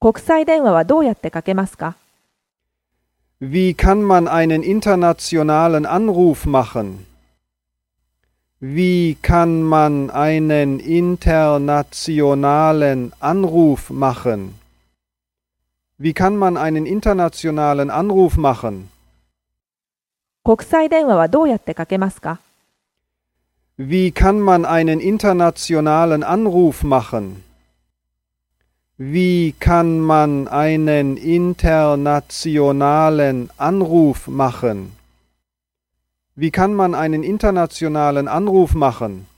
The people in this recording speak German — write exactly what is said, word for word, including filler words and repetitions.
国際電話はどうやってかけますか？ Wie kann man einen internationalen Anruf machen? Wie kann man einen internationalen Anruf machen? Wie kann man einen internationalen Anruf machen? 国際電話はどうやってかけますか？ Wie kann man einen internationalen Anruf machen? Wie kann man einen internationalen Anruf machen? Wie kann man einen internationalen Anruf machen?